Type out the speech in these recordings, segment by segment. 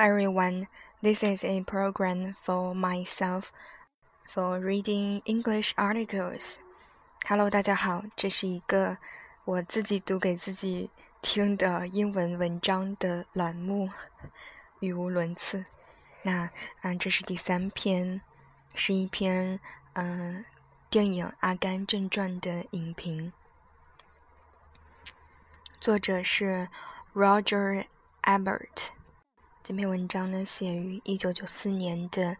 everyone. This is a program for myself for reading English articles. Hello, 大家好，这是一个我自己读给自己听的英文文章的栏目，语无伦次。这是第3篇，是一篇电影《阿甘正传》的影评，作者是 Roger Ebert。这篇文章呢，写于1994年的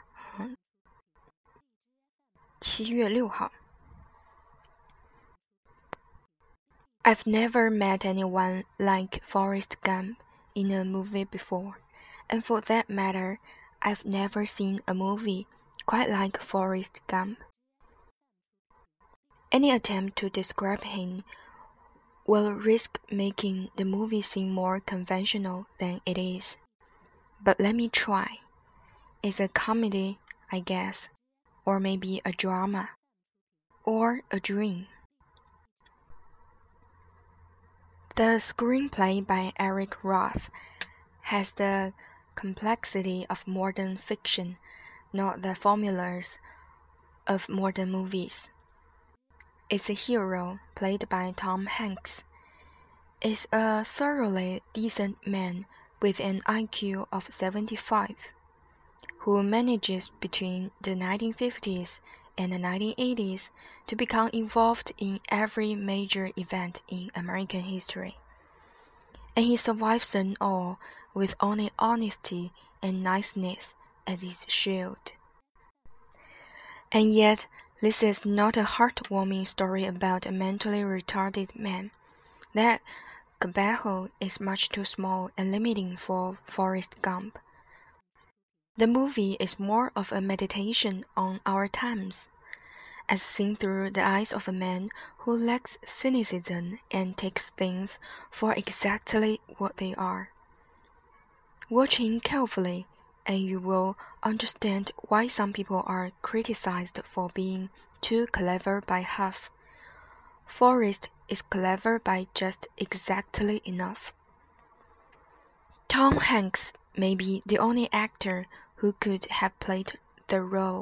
7月6号。I've never met anyone like Forrest Gump in a movie before, and for that matter, I've never seen a movie quite like Forrest Gump. Any attempt to describe him will risk making the movie seem more conventional than it is. But let me try. It's a comedy, I guess, or maybe a drama, or a dream. The screenplay by Eric Roth has the complexity of modern fiction, not the formulas of modern movies. Its hero, played by Tom Hanks, is a thoroughly decent man with an IQ of 75, who manages between the 1950s and the 1980s to become involved in every major event in American history. And he survives them all with only honesty and niceness as his shield. And yet, this is not a heartwarming story about a mentally retarded man. That cubbyhole is much too small and limiting for Forrest Gump. The movie is more of a meditation on our times, as seen through the eyes of a man who lacks cynicism and takes things for exactly what they are. Watch him carefully, and you will understand why some people are criticized for being too clever by half. Forrest is clever by just exactly enough. Tom Hanks may be the only actor who could have played the role.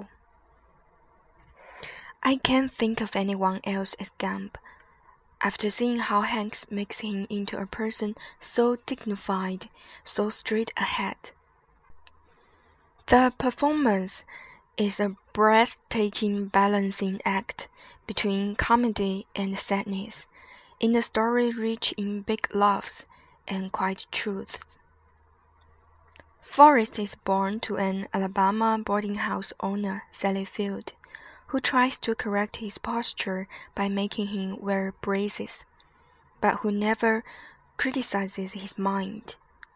I can't think of anyone else as Gump, after seeing how Hanks makes him into a person so dignified, so straight ahead. The performance is a breathtaking balancing act between comedy and sadness, in a story rich in big laughs and quiet truths. Forrest is born to an Alabama boarding house owner, Sally Field, who tries to correct his posture by making him wear braces, but who never criticizes his mind.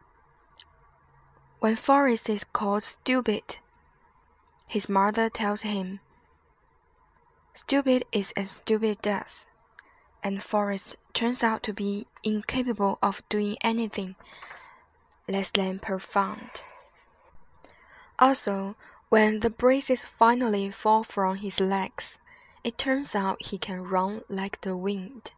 When Forrest is called stupid, his mother tells him, "Stupid is as stupid does," and Forrest turns out to be incapable of doing anything less than profound. Also, when the braces finally fall from his legs, it turns out he can run like the wind.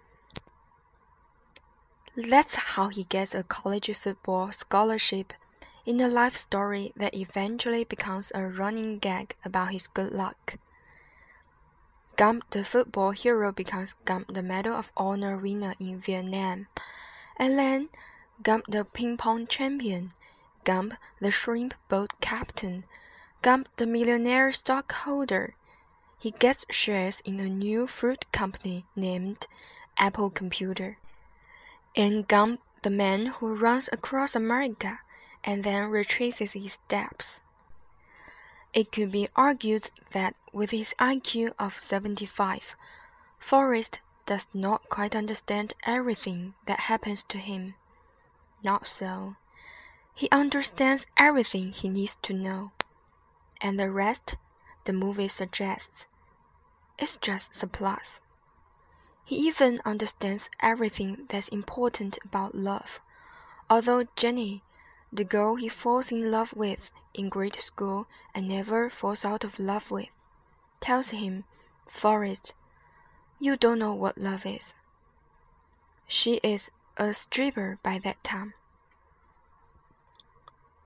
That's how he gets a college football scholarship in a life story that eventually becomes a running gag about his good luck. Gump the football hero becomes Gump the Medal of Honor winner in Vietnam, and then Gump the ping pong champion, Gump the shrimp boat captain, Gump the millionaire stockholder. He gets shares in a new fruit company named Apple Computer. And Gump the man who runs across America and then retraces his steps. It could be argued that with his IQ of 75, Forrest does not quite understand everything that happens to him. Not so. He understands everything he needs to know. And the rest, the movie suggests, is just surplus. He even understands everything that's important about love, although Jenny, the girl he falls in love with in grade school and never falls out of love with, tells him, "Forrest, you don't know what love is." She is a stripper by that time.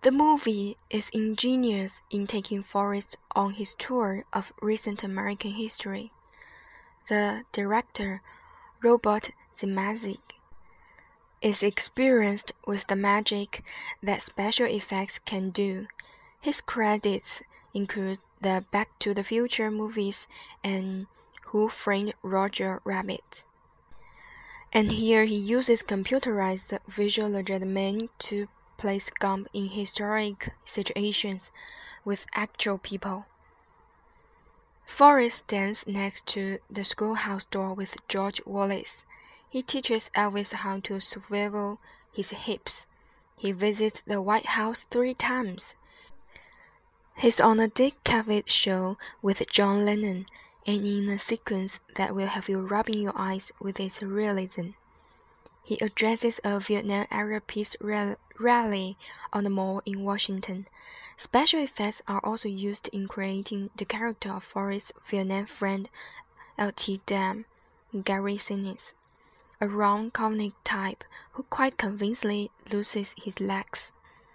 The movie is ingenious in taking Forrest on his tour of recent American history. The director, Robert Zemeckis, is experienced with the magic that special effects can do. His credits include the Back to the Future movies and Who Framed Roger Rabbit. And here he uses computerized visual legerdemain to place Gump in historic situations with actual people. Forrest stands next to the schoolhouse door with George Wallace. He teaches Elvis how to swivel his hips. He visits the White House 3 times. He's on a Dick Cavett show with John Lennon, and in a sequence that will have you rubbing your eyes with its realism. He addresses a Vietnam-era peace rally on the mall in Washington. Special effects are also used in creating the character of Forrest's Vietnam friend L.T. Dam, Gary Sinise, a round comic type who quite convincingly loses his legs.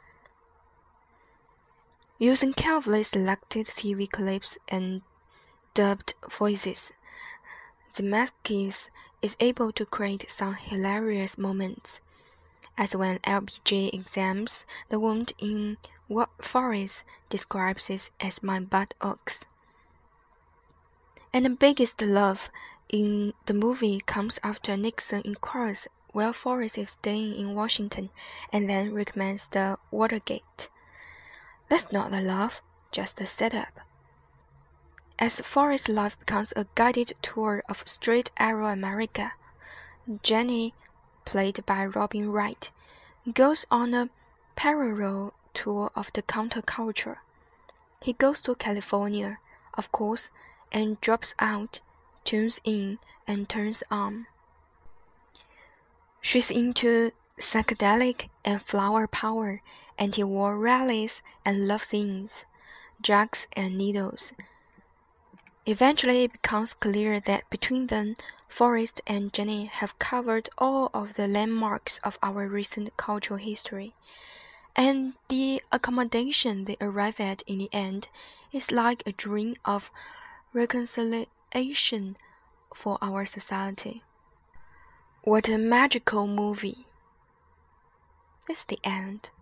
Using carefully selected TV clips and dubbed voices, Zemeckis is able to create some hilarious moments, as when LBJ examines the wound in what Forrest describes as my buttocks. And the biggest love in the movie comes after Nixon inquires while Forrest is staying in Washington and then recommends the Watergate. That's not the love, just the setup. As Forrest's life becomes a guided tour of straight-arrow America, Jenny, played by Robin Wright, goes on a parallel tour of the counterculture. He goes to California, of course, and drops out, tunes in, and turns on. She's into psychedelic and flower power, anti-war rallies and love scenes, drugs and needles. Eventually, it becomes clear that between them, Forrest and Jenny have covered all of the landmarks of our recent cultural history, and the accommodation they arrive at in the end is like a dream of reconciliation for our society. What a magical movie! It's the end.